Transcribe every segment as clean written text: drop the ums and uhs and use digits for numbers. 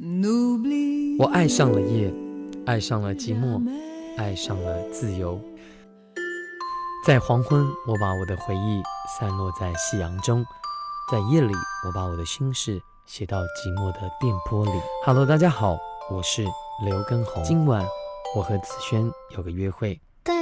我爱上了夜，爱上了寂寞，爱上了自由。在黄昏，我把我的回忆散落在夕阳中，在夜里，我把我的心事写到寂寞的电波里。Hello， 大家好，我是刘畊宏。今晚我和子轩有个约会。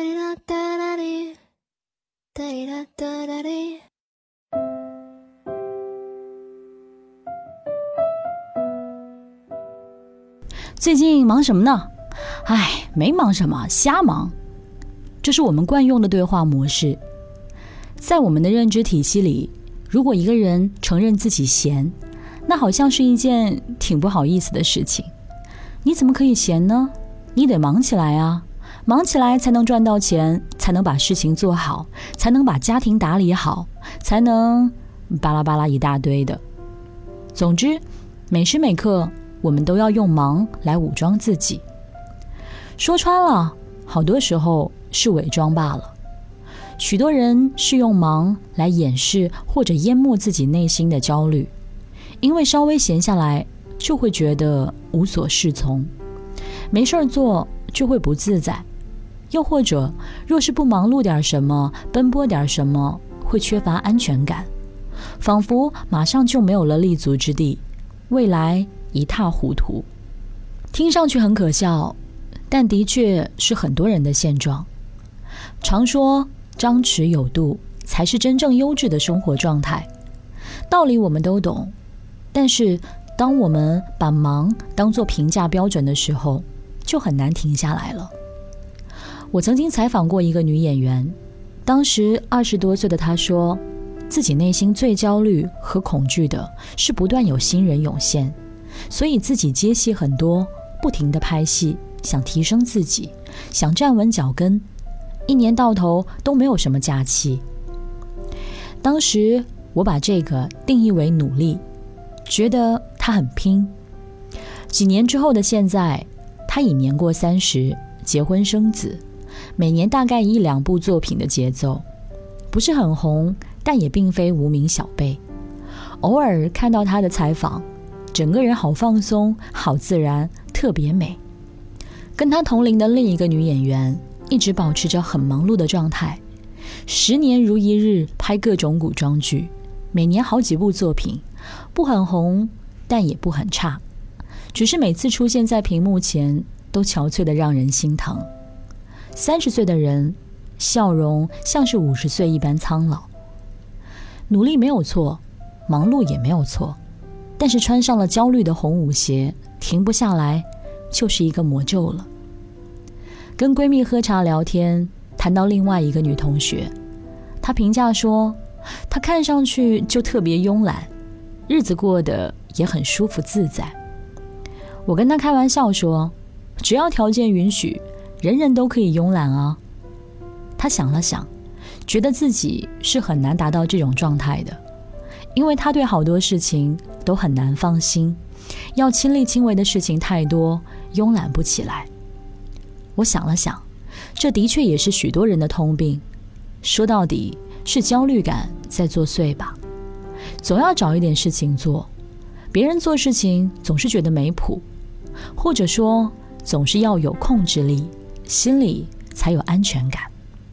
最近忙什么呢？没忙什么，瞎忙。这是我们惯用的对话模式。在我们的认知体系里，如果一个人承认自己闲，那好像是一件挺不好意思的事情。你怎么可以闲呢？你得忙起来啊，忙起来才能赚到钱，才能把事情做好，才能把家庭打理好，才能巴拉巴拉一大堆的。总之，每时每刻我们都要用忙来武装自己。说穿了，好多时候是伪装罢了。许多人是用忙来掩饰或者淹没自己内心的焦虑，因为稍微闲下来就会觉得无所适从，没事做就会不自在，又或者若是不忙碌点什么，奔波点什么，会缺乏安全感，仿佛马上就没有了立足之地，未来一塌糊涂。听上去很可笑，但的确是很多人的现状。常说张弛有度才是真正优质的生活状态，道理我们都懂，但是当我们把忙当作评价标准的时候，就很难停下来了。我曾经采访过一个女演员，当时20多岁的她说，自己内心最焦虑和恐惧的是不断有新人涌现，所以自己接戏很多，不停地拍戏，想提升自己，想站稳脚跟，一年到头都没有什么假期。当时我把这个定义为努力，觉得他很拼。几年之后的现在，他已年过30，结婚生子，每年大概1-2部作品的节奏，不是很红，但也并非无名小辈。偶尔看到他的采访，整个人好放松，好自然，特别美。跟他同龄的另一个女演员一直保持着很忙碌的状态，10年如一日拍各种古装剧，每年好几部作品，不很红，但也不很差，只是每次出现在屏幕前都憔悴得让人心疼。30岁的人，笑容像是50岁一般苍老。努力没有错，忙碌也没有错，但是穿上了焦虑的红舞鞋，停不下来，就是一个魔咒了。跟闺蜜喝茶聊天，谈到另外一个女同学，她评价说，她看上去就特别慵懒，日子过得也很舒服自在。我跟她开玩笑说，只要条件允许，人人都可以慵懒啊。她想了想，觉得自己是很难达到这种状态的，因为她对好多事情都很难放心，要亲力亲为的事情太多，慵懒不起来。我想了想，这的确也是许多人的通病，说到底是焦虑感在作祟吧。总要找一点事情做，别人做事情总是觉得没谱，或者说总是要有控制力，心里才有安全感。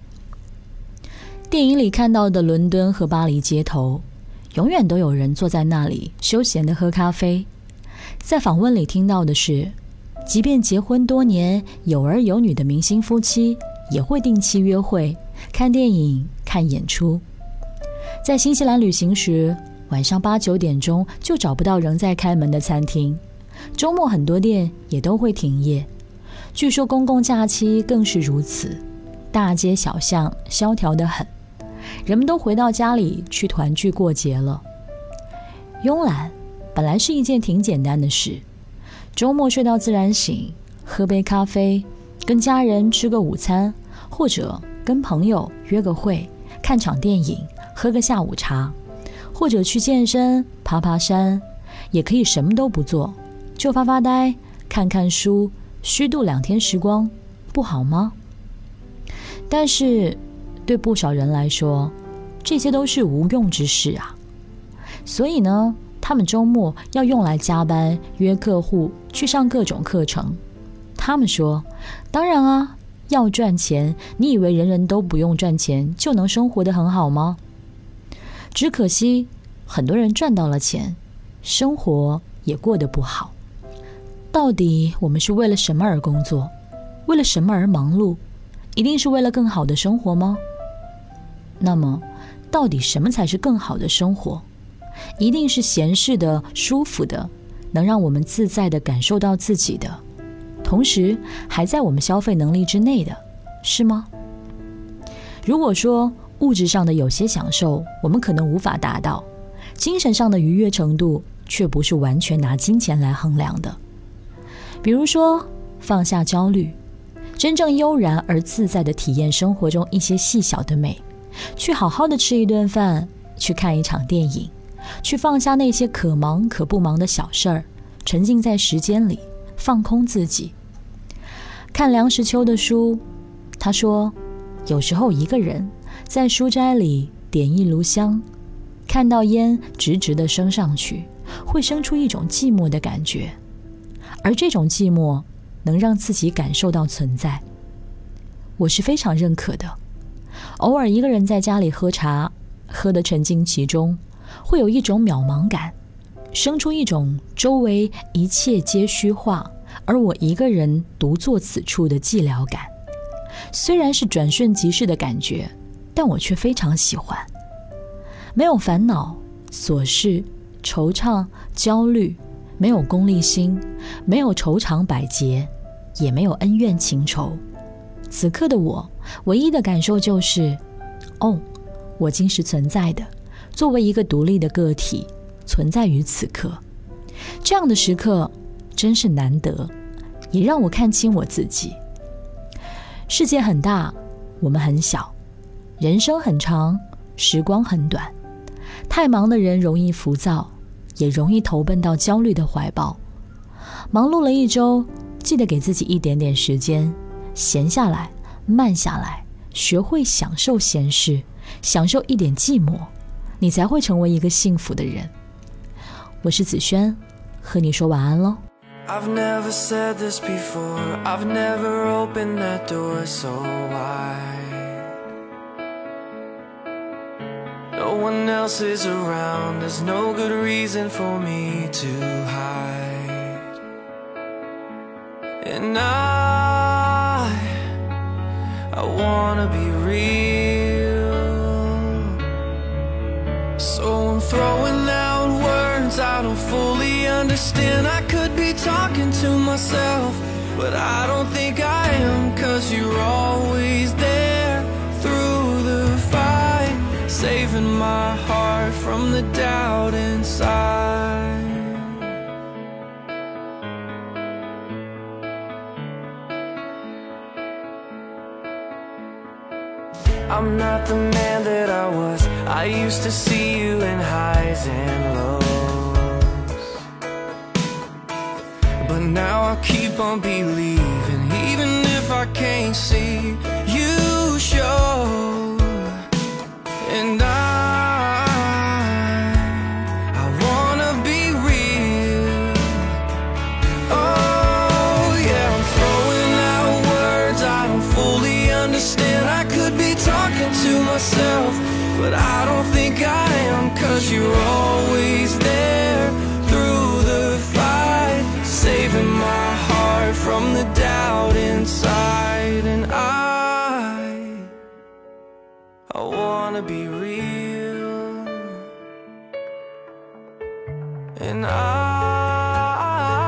电影里看到的伦敦和巴黎街头，永远都有人坐在那里休闲地喝咖啡。在访问里听到的是，即便结婚多年有儿有女的明星夫妻，也会定期约会，看电影，看演出。在新西兰旅行时，晚上8、9点钟就找不到仍在开门的餐厅，周末很多店也都会停业，据说公共假期更是如此，大街小巷萧条得很，人们都回到家里去团聚过节了。慵懒本来是一件挺简单的事，周末睡到自然醒，喝杯咖啡，跟家人吃个午餐，或者跟朋友约个会，看场电影，喝个下午茶，或者去健身，爬爬山，也可以什么都不做，就发发呆，看看书，虚度2天时光，不好吗？但是对不少人来说，这些都是无用之事啊。所以呢， 他们周末要用来加班，约客户，去上各种课程。他们说，当然啊，要赚钱，你以为人人都不用赚钱就能生活得很好吗？只可惜很多人赚到了钱，生活也过得不好。到底我们是为了什么而工作？为了什么而忙碌？一定是为了更好的生活吗？那么到底什么才是更好的生活？一定是闲适的、舒服的，能让我们自在地感受到自己的，同时还在我们消费能力之内的，是吗？如果说物质上的有些享受我们可能无法达到，精神上的愉悦程度却不是完全拿金钱来衡量的。比如说放下焦虑，真正悠然而自在地体验生活中一些细小的美，去好好的吃一顿饭，去看一场电影，去放下那些可忙可不忙的小事儿，沉浸在时间里，放空自己。看梁实秋的书，他说，有时候一个人在书斋里点一炉香，看到烟直直地升上去，会生出一种寂寞的感觉，而这种寂寞能让自己感受到存在。我是非常认可的。偶尔一个人在家里喝茶，喝得沉浸其中，会有一种渺茫感，生出一种周围一切皆虚化，而我一个人独坐此处的寂寥感。虽然是转瞬即逝的感觉，但我却非常喜欢。没有烦恼、琐事、惆怅、焦虑，没有功利心，没有愁肠百结，也没有恩怨情仇。此刻的我，唯一的感受就是，我今是存在的，作为一个独立的个体，存在于此刻。这样的时刻真是难得，也让我看清我自己。世界很大，我们很小；人生很长，时光很短。太忙的人容易浮躁，也容易投奔到焦虑的怀抱。忙碌了一周，记得给自己一点点时间，闲下来，慢下来，学会享受闲事，享受一点寂寞，你才会成为一个幸福的人。我是子轩，和你说晚安咯。 I've never said this before, I've never opened that door so wide. No one else is around, there's no good reason for me to hide. And I wanna be real, so I'm throwing out words I don't fully understand. I could be talking to myself, but I don't think I am, 'cause you're always there through the fight, saving my heart from the doubt inside. I'm not the man that I was, I used to see you in highs and lows, but now I keep on believing, even if I can't see you show. And I wanna be real. Oh yeah, I'm throwing out words I don't fully understand. I could be talking to myself, but I don't think I am, 'cause you're always there through the fight, saving my heart from the doubt inside. And I wanna be real. And I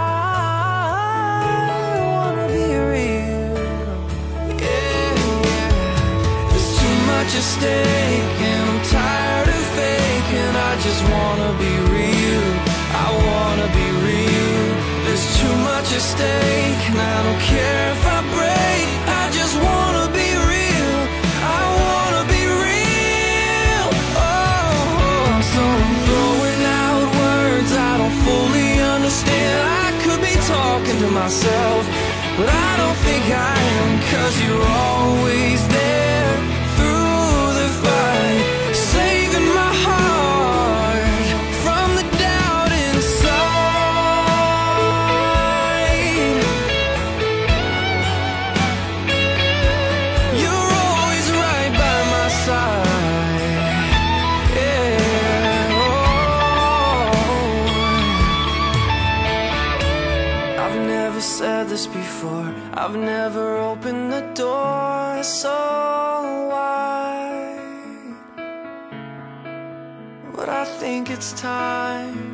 wanna be real. Yeah, yeah. There's too much at stake, and I'm tired of faking. I just wanna be real. I wanna be real. There's too much at stake, and I don't care if I break. I just wanna be real. I wanna be real. Oh, so I'm throwing out words I don't fully understand. I could be talking to myself, but I don't think I am, 'cause you're always there through the fight, saving my heart from the doubt I've never opened the door so wide, but I think it's time